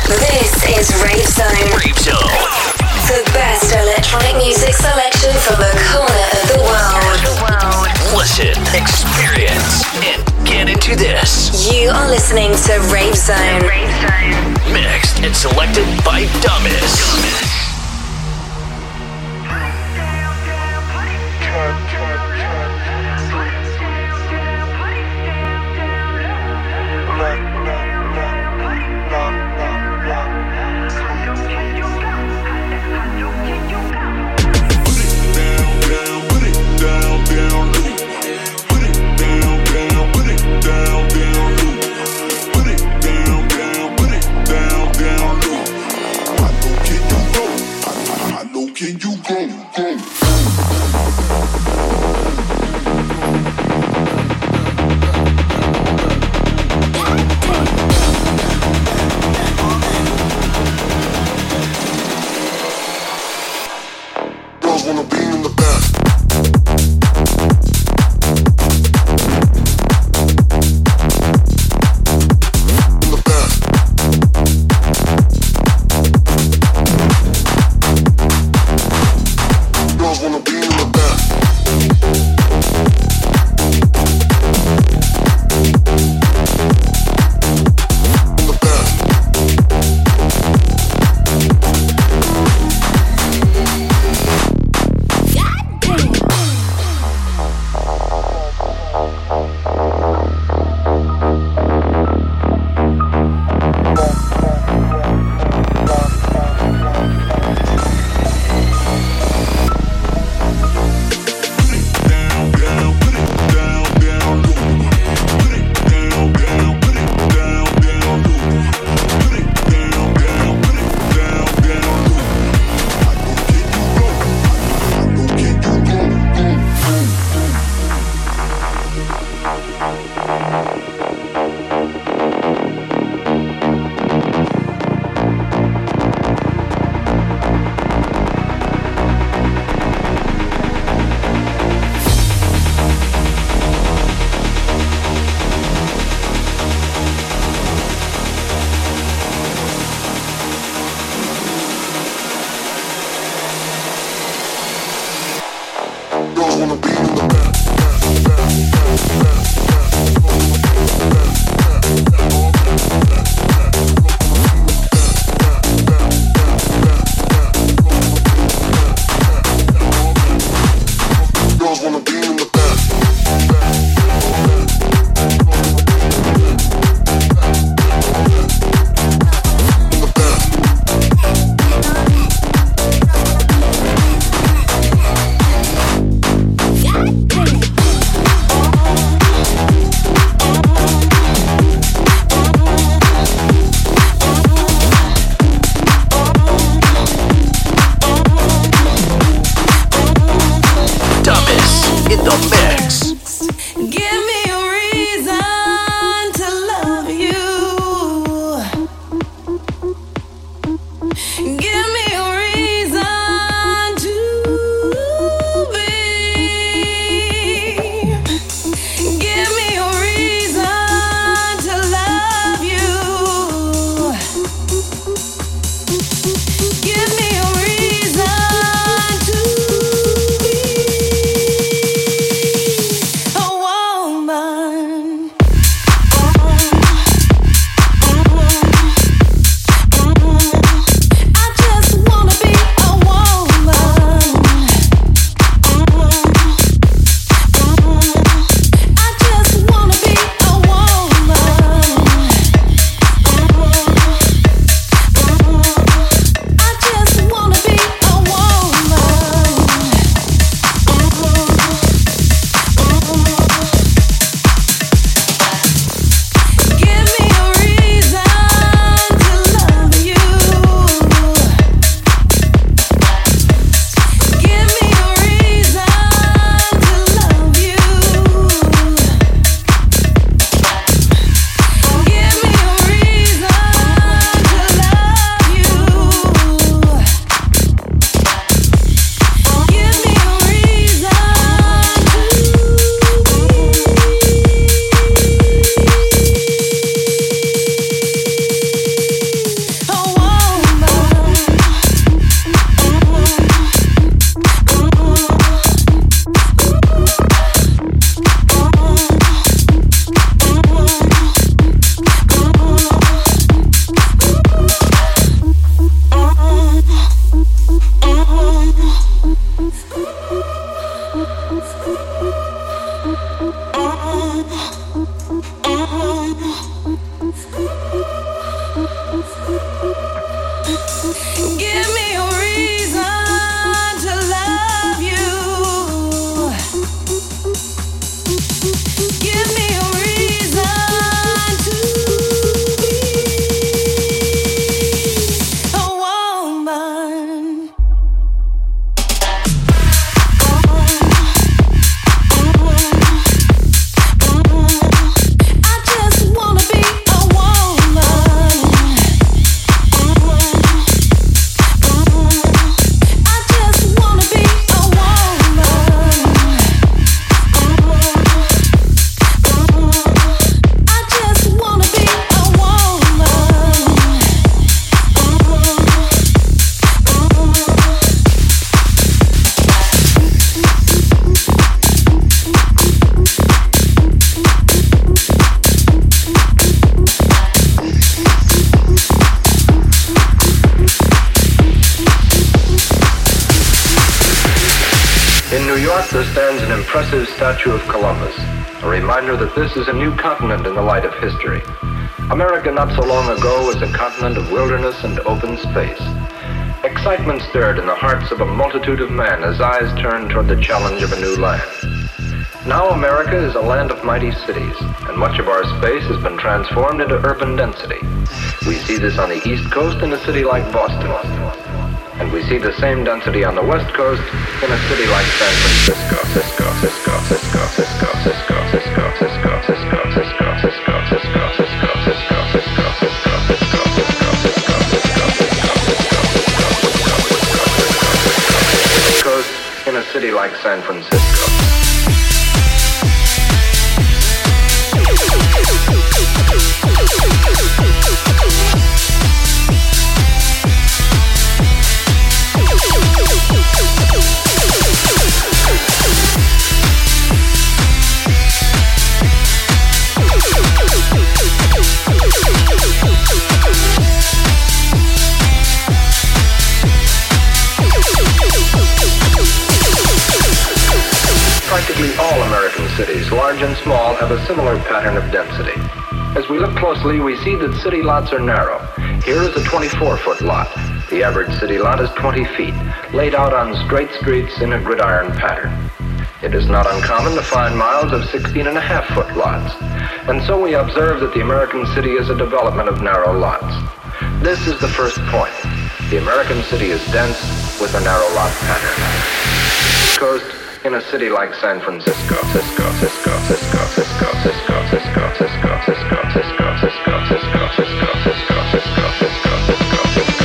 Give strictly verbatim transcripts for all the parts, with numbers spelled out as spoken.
This is Rave Zone. Rave Zone. The best electronic music selection from the corner of the world. Listen, experience, and get into this. You are listening to Rave Zone. Rave Zone. Mixed and selected by Dumbest. Can you go, go? Girls wanna be in the back. Wanna be in the back, back, back, back, back, back. impressive statue of Columbus, a reminder that this is a new continent in the light of history. America not so long ago was a continent of wilderness and open space. Excitement stirred in the hearts of a multitude of men as eyes turned toward the challenge of a new land. Now America is a land of mighty cities, and much of our space has been transformed into urban density. We see this on the East Coast in a city like Boston, and we see the same density on the West Coast in a city like San Francisco. Cisco, Cisco, Cisco, Cisco, Cisco, Cisco, Cisco, Cisco, Cisco, Cisco, Cisco, Cisco, Cisco, Cisco, Cisco, Cisco, Cisco, Cisco, in a city like San Francisco. Practically all American cities, large and small, have a similar pattern of density. As we look closely, we see that city lots are narrow. Here is a twenty-four foot lot. The average city lot is twenty feet, laid out on straight streets in a gridiron pattern. It is not uncommon to find miles of sixteen and a half foot lots. And so we observe that the American city is a development of narrow lots. This is the first point. The American city is dense with a narrow lot pattern. Coast, in a city like San Francisco, Cisco, Cisco, Cisco, Cisco, Cisco, Cisco, Cisco, Cisco, Cisco, Cisco, Cisco, Cisco, Cisco, Cisco, Cisco, Cisco, Cisco,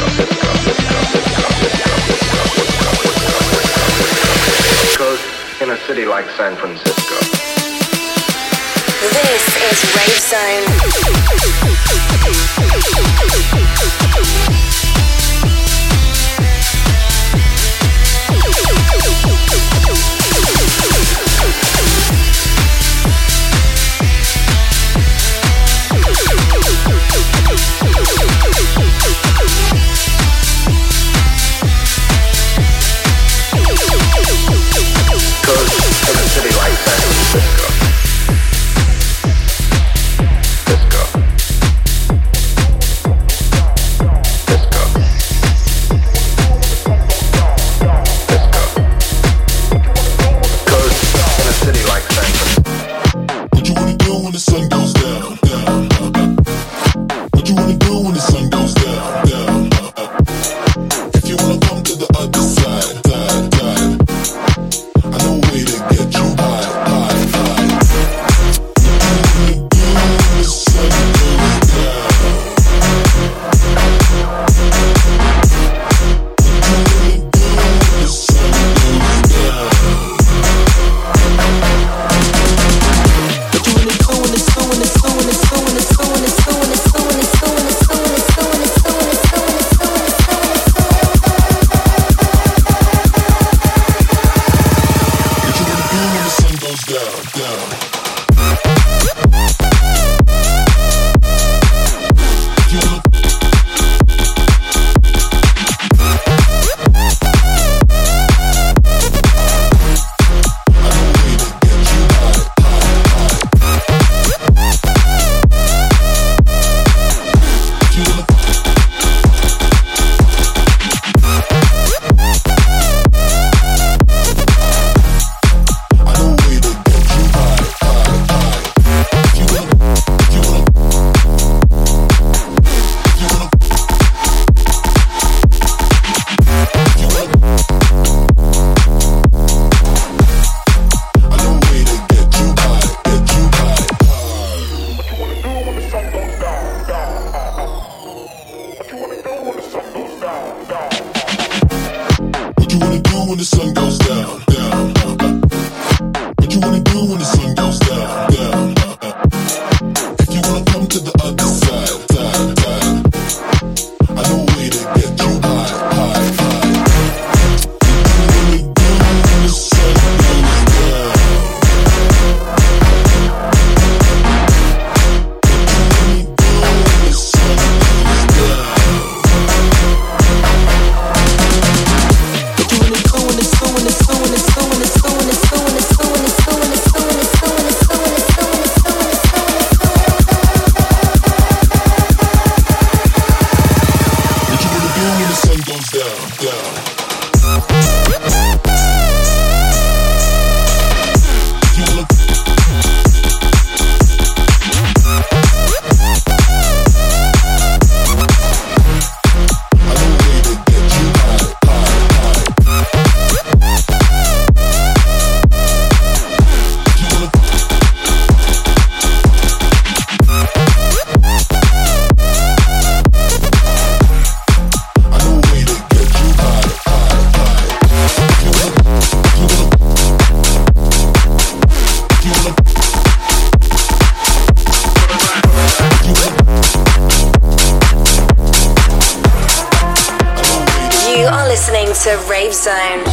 Coast, in a city like San Francisco. This is Rave Zone. When it's listening to Rave Zone.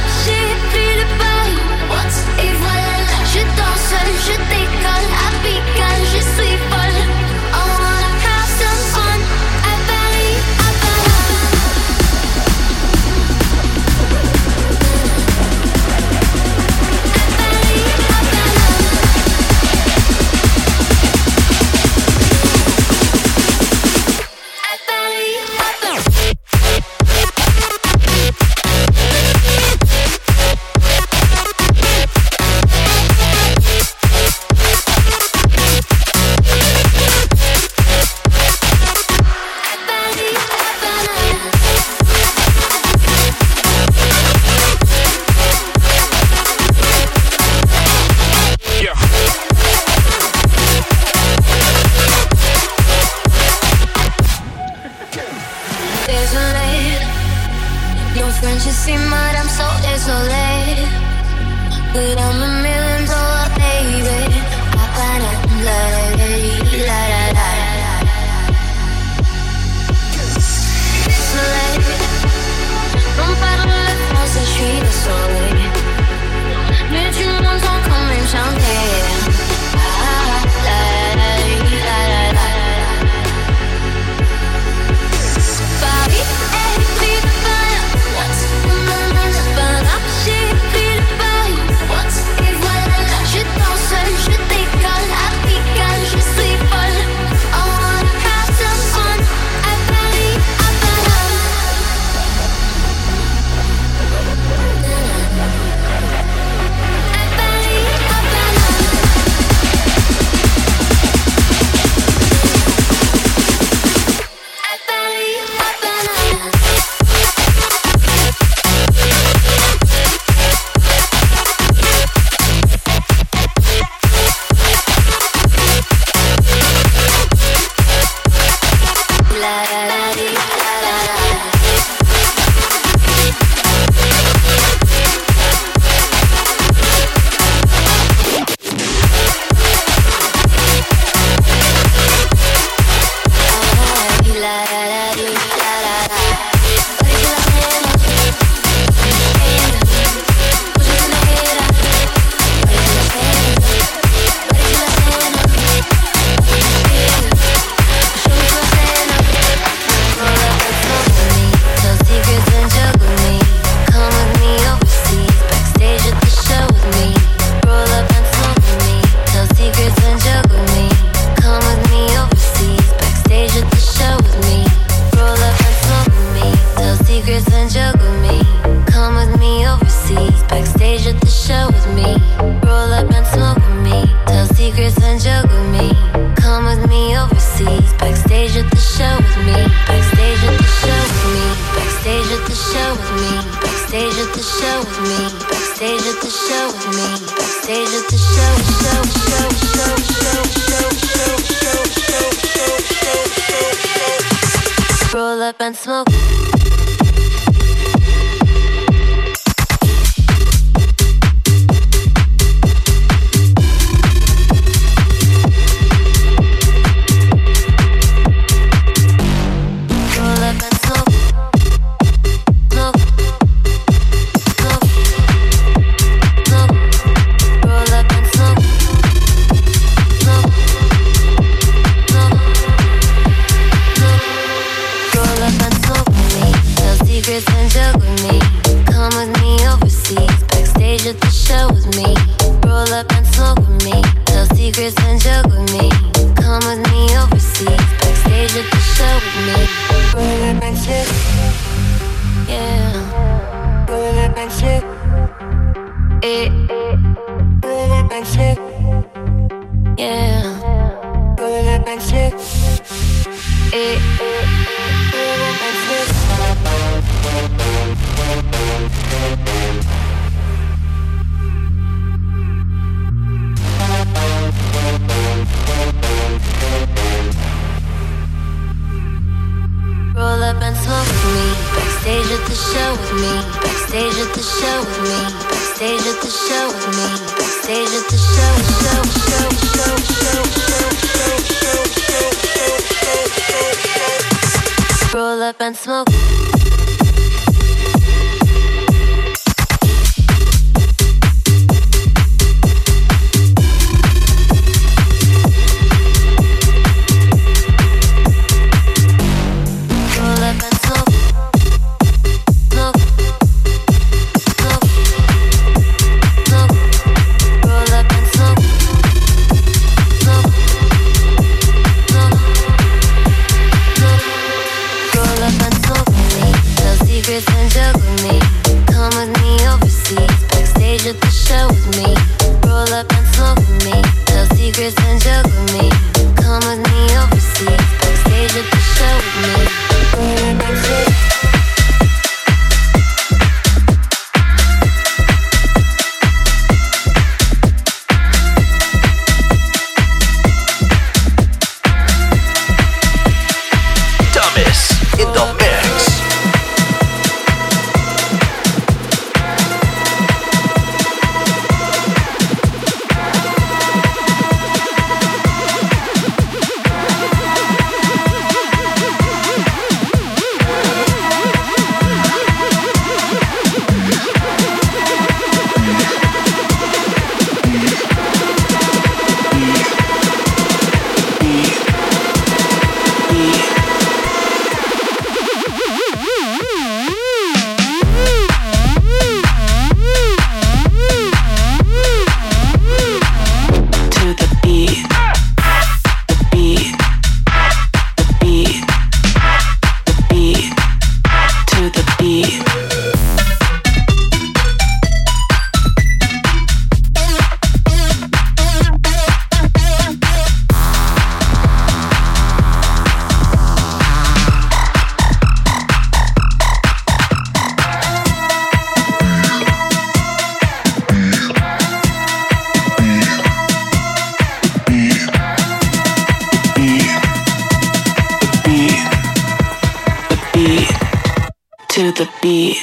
Je décolle à pic. Backstage at the show with me. Backstage at the show, show, show, show, show, show, show, show, show, show, show, show. Roll up and smoke. To the beat.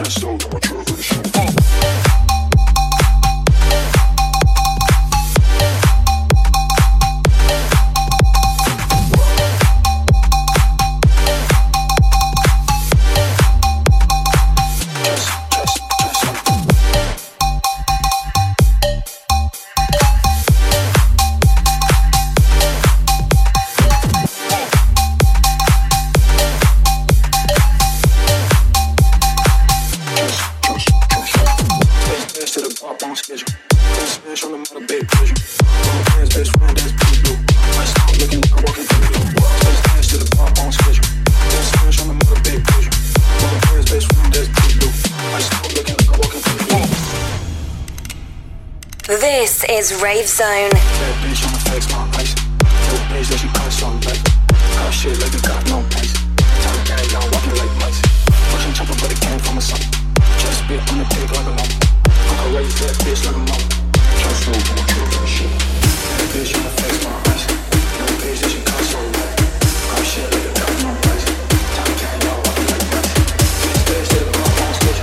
This is Rave Zone. That bitch on the face, my ice. Little bitch that she cuss on life. Got shit like it got no place. Tell the gang down, walking like mice. Russian chopper, but it came from a son. Just spit on the dick like a lump. I'ma raise that bitch like a mom. Just so to my truth and shit. That bitch on the face, my ice. Little bitch that she cuss on life. Got shit like it got no place. Tell the gang down, walking like mice. Bitch, bitch, that my mom's bitch.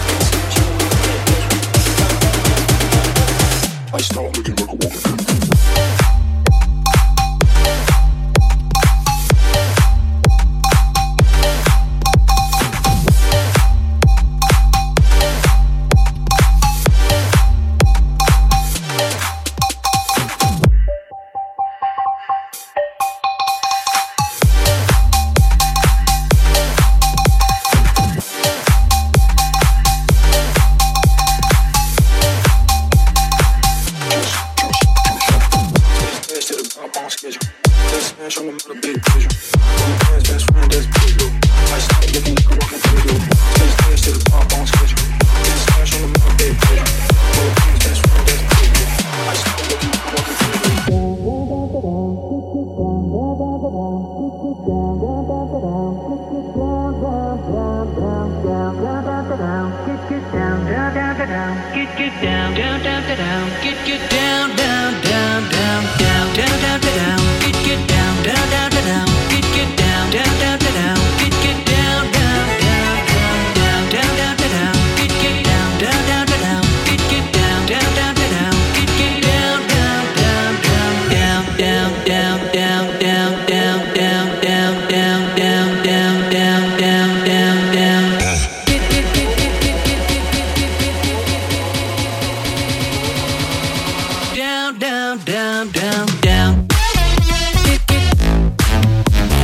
I start looking like a walking thing. down, down, down, down. Get, get,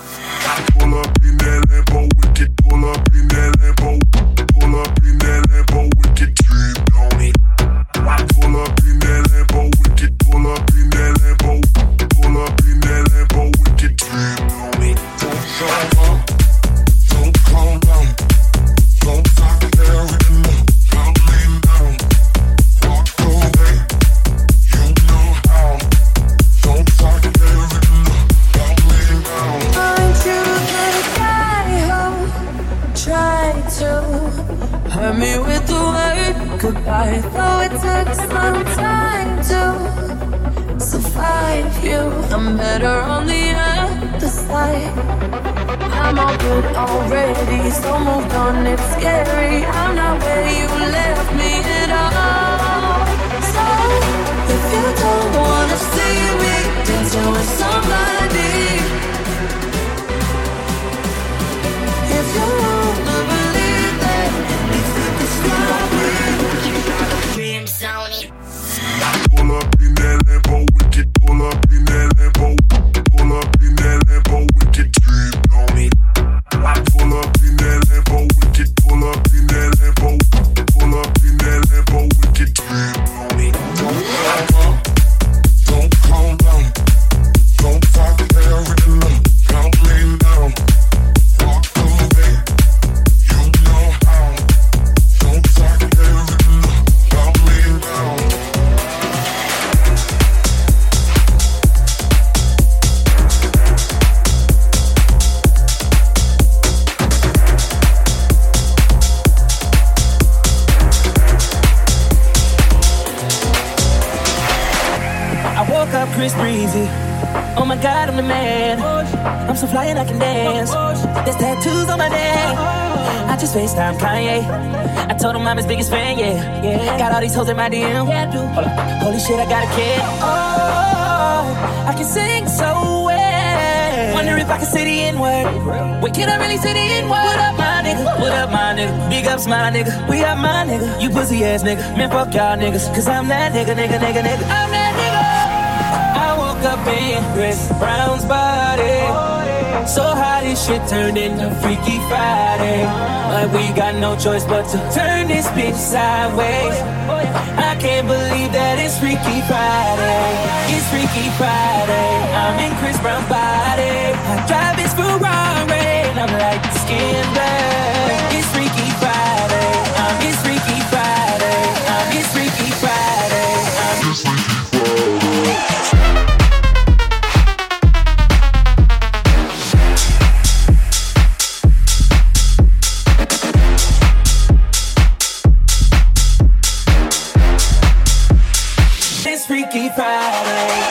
Pull up in that Lambo, wicked. Pull up in that Lambo. Pull up in that Lambo, wicked. Dream on me. Pull up in that Lambo, wicked. Pull up in that Lambo. Pull up in that Lambo, wicked. Dream on me. Don't show up. Don't calm down. Don't talk there with the love. Don't lean down. Walk away. You know how. Don't talk there with the love. Don't lean down. Aren't you the guy who tried to hurt me with the word goodbye? Though it took some time to survive you, I'm better on the other side. I'm all good already, so moved on, it's scary. I'm not where you left me at all. So, if you don't wanna see me dancing with somebody, if you wanna believe that anything can stop me, you gotta dream Sony. Pull up in that Lambo, wicked. Pull up in that Lambo. Pull up in that Lambo, wicked. Dream on me. Pull up in that Lambo, wicked. Pull up in that Lambo. Pull up in that Lambo, wicked. Dream on me. Don't calm down. Don't calm down. Don't talk there with the love. Don't lean down. Walk away. You know how. Don't talk there with the love. Don't lean down. I woke up Chris Breezy. Oh my God, I'm the man. I'm so fly and I can dance. There's tattoos on my neck. I just FaceTime Kanye. I told him I'm his biggest fan, yeah. yeah. Got all these hoes in my D M. Yeah, I do. Hold up. Holy shit, I got a kid. Oh, I can sing so well. Wonder if I can say the N-word. Wait, can I really say the N-word? What up, my nigga? What up, my nigga? Big ups, my nigga. We up, my nigga. You pussy ass nigga. Man, fuck y'all niggas. Cause I'm that nigga, nigga, nigga, nigga. I'm that nigga. I woke up in Chris Brown's body. So how this shit turned into Freaky Friday. But we got no choice but to turn this bitch sideways. I can't believe that it's Freaky Friday. It's Freaky Friday. I'm in Chris Brown's body. I drive his Ferrari and I'm like skin black. It's Freaky Friday. I'm it's Freaky Friday. I'm it's Freaky Friday. I'm it's Freaky Friday. Freaky Friday.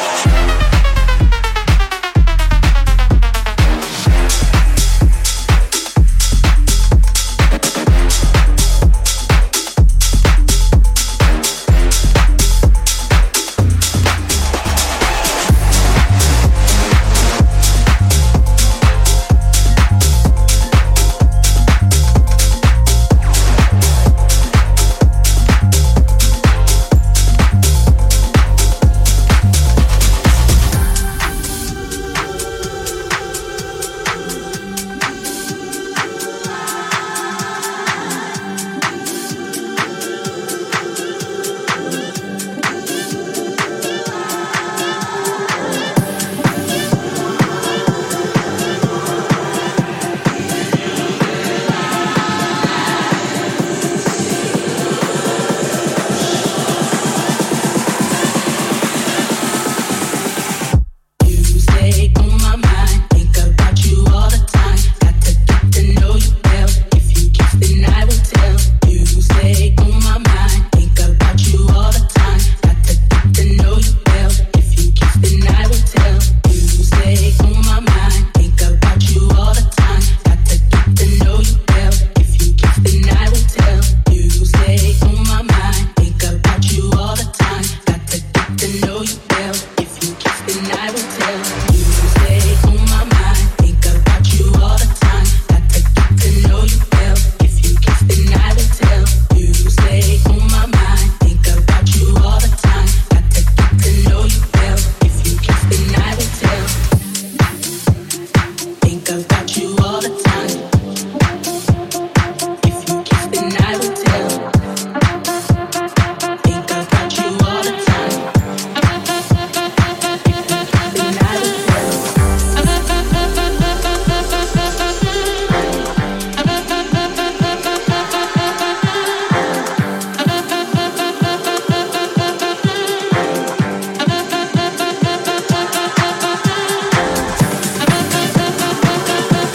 We'll be right back.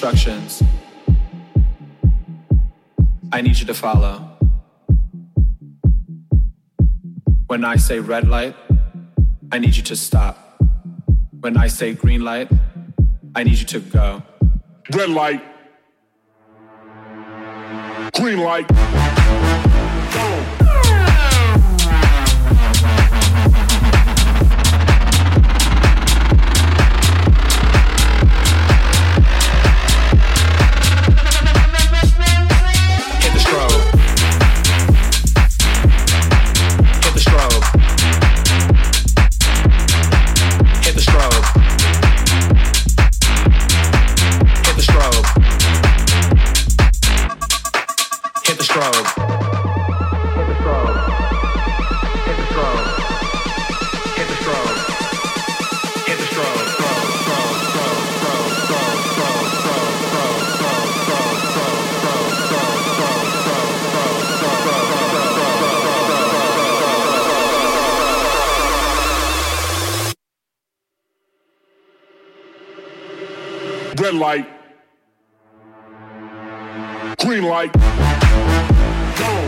instructions. I need you to follow. When I say red light, I need you to stop. When I say green light, I need you to go. Red light. Green light. Go. Red light. Green light. Go.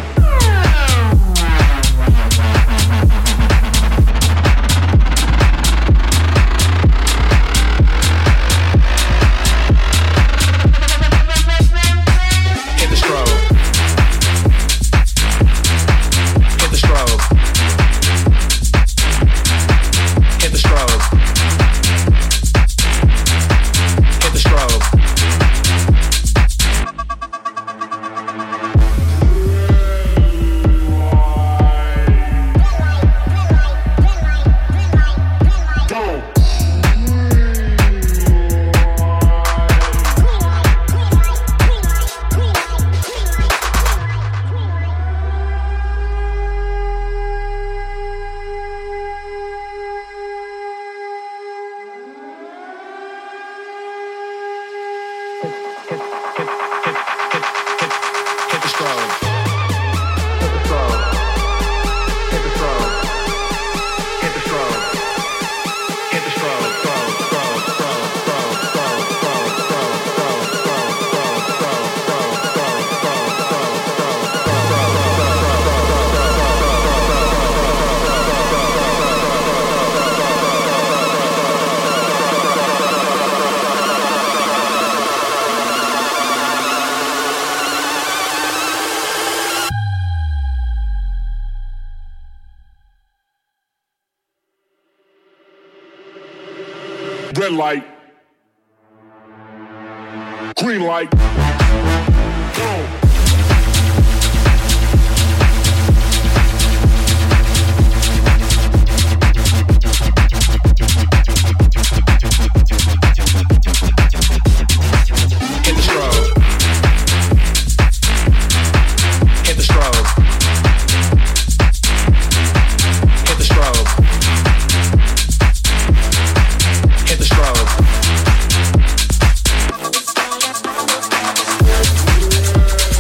Red light. Green light. Go. Red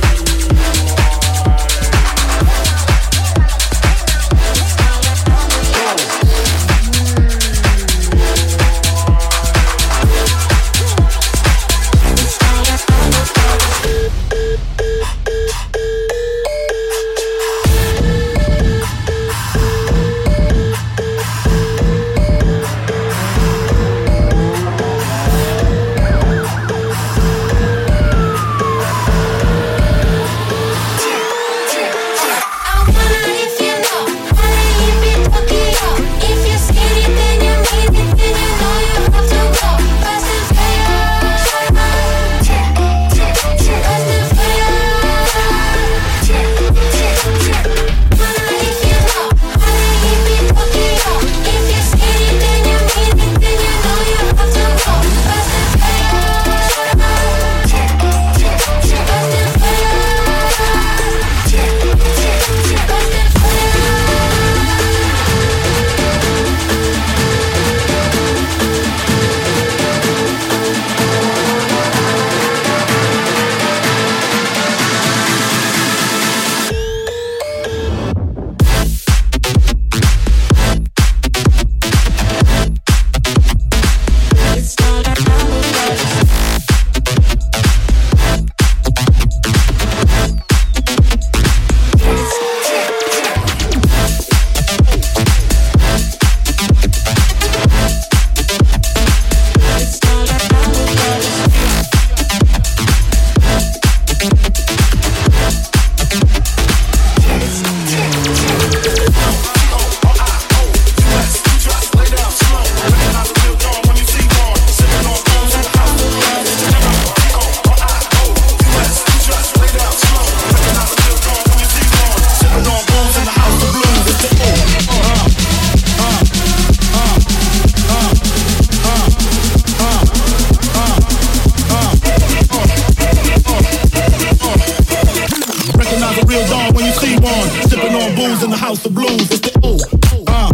house of blues. It's the ooh, uh.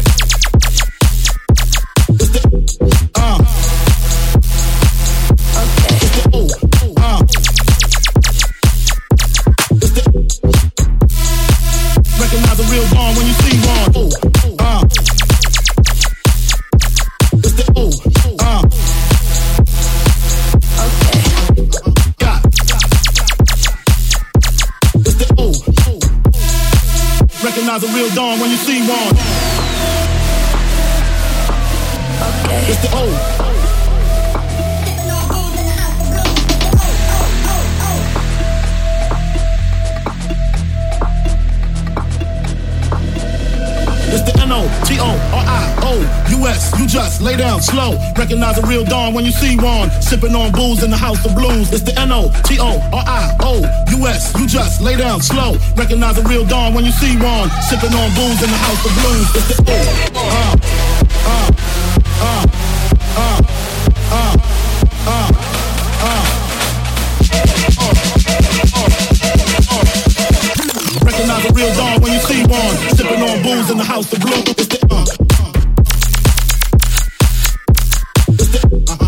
It's the uh. Okay. It's the ooh, uh. It's the recognize a real dawn when you see one. Ooh, uh. It's the ooh, uh. Okay. Got. It's the ooh. Recognize a real dawn when you see one. Okay. It's the ooh. It's the N O T O R I O U S. You just lay down slow. Recognize a real dawn when you see one. Sipping on booze in the house of blues. It's the N O T O R I O U S. You just lay down slow. Recognize a real dawn when you see one. Sipping on booze in the house of blues. It's the ooh, uh, uh, uh, uh, uh, uh, uh. Recognize a real dawn when you see one. Sipping on booze in the house of blue. It's the uh, uh. It's the uh-huh.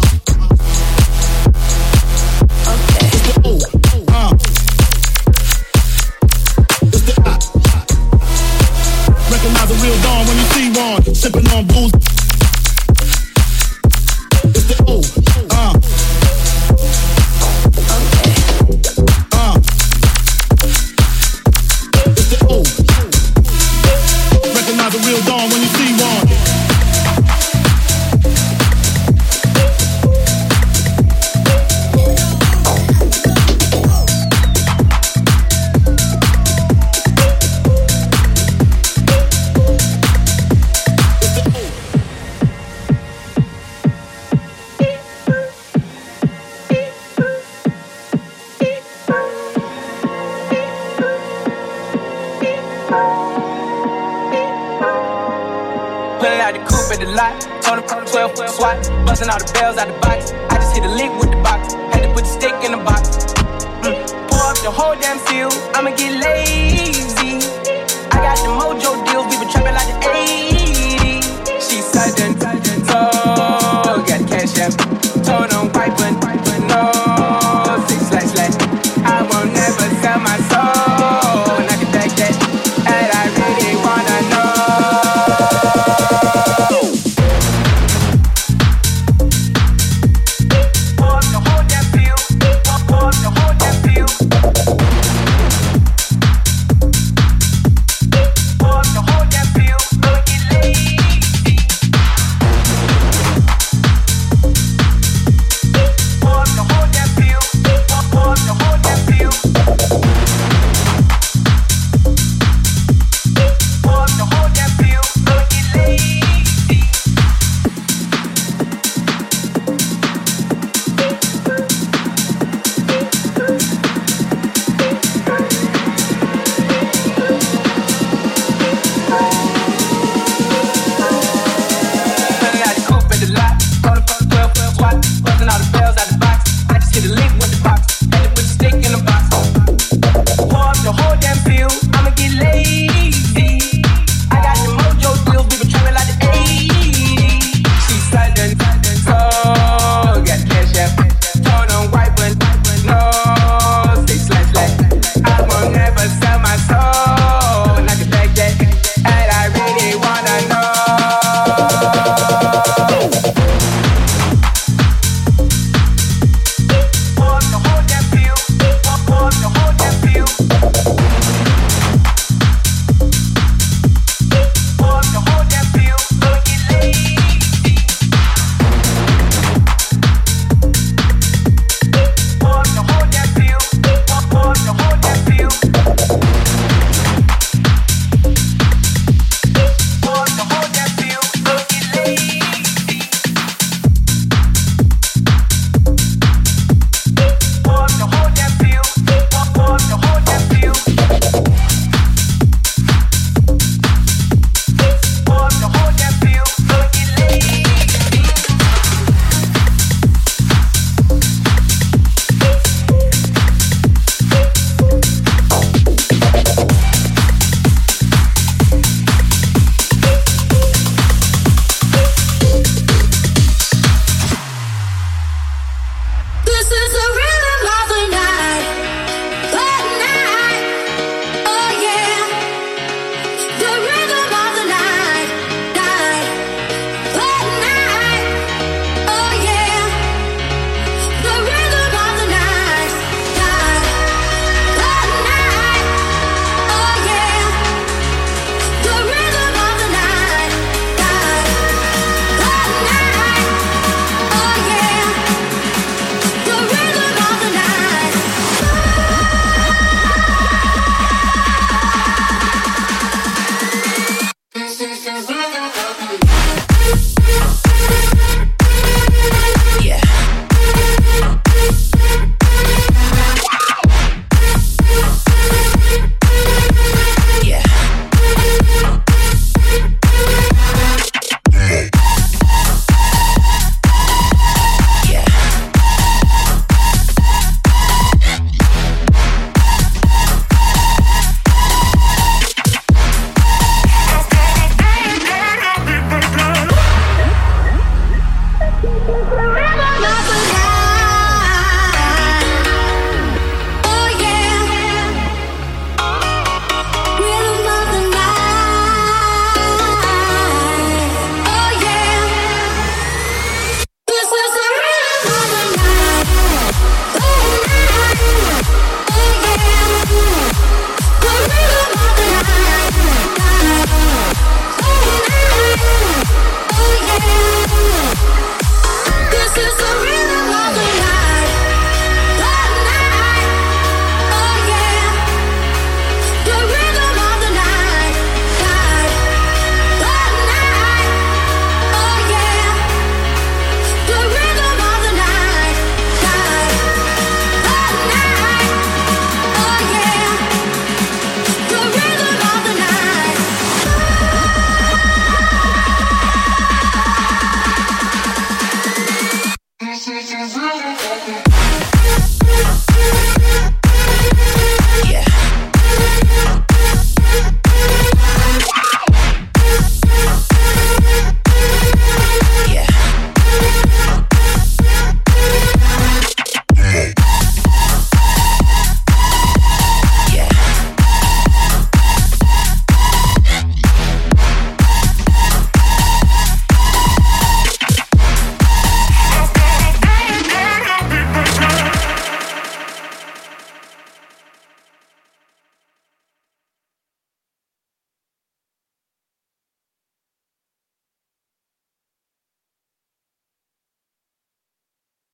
Okay. It's the ooh, uh. It's the uh. Recognize a real dawn when you see one. Sipping on booze. It's the ooh, uh. Recognize a real dawn when you see one. twelve foot swat, busting all the bells out the box. I just hit a lick with the box, had to put the stick in the box. Mm. Pour up the whole damn field, I'ma get lazy. I got the mojo deals, we been trapping like the eighties. She sudden, sudden.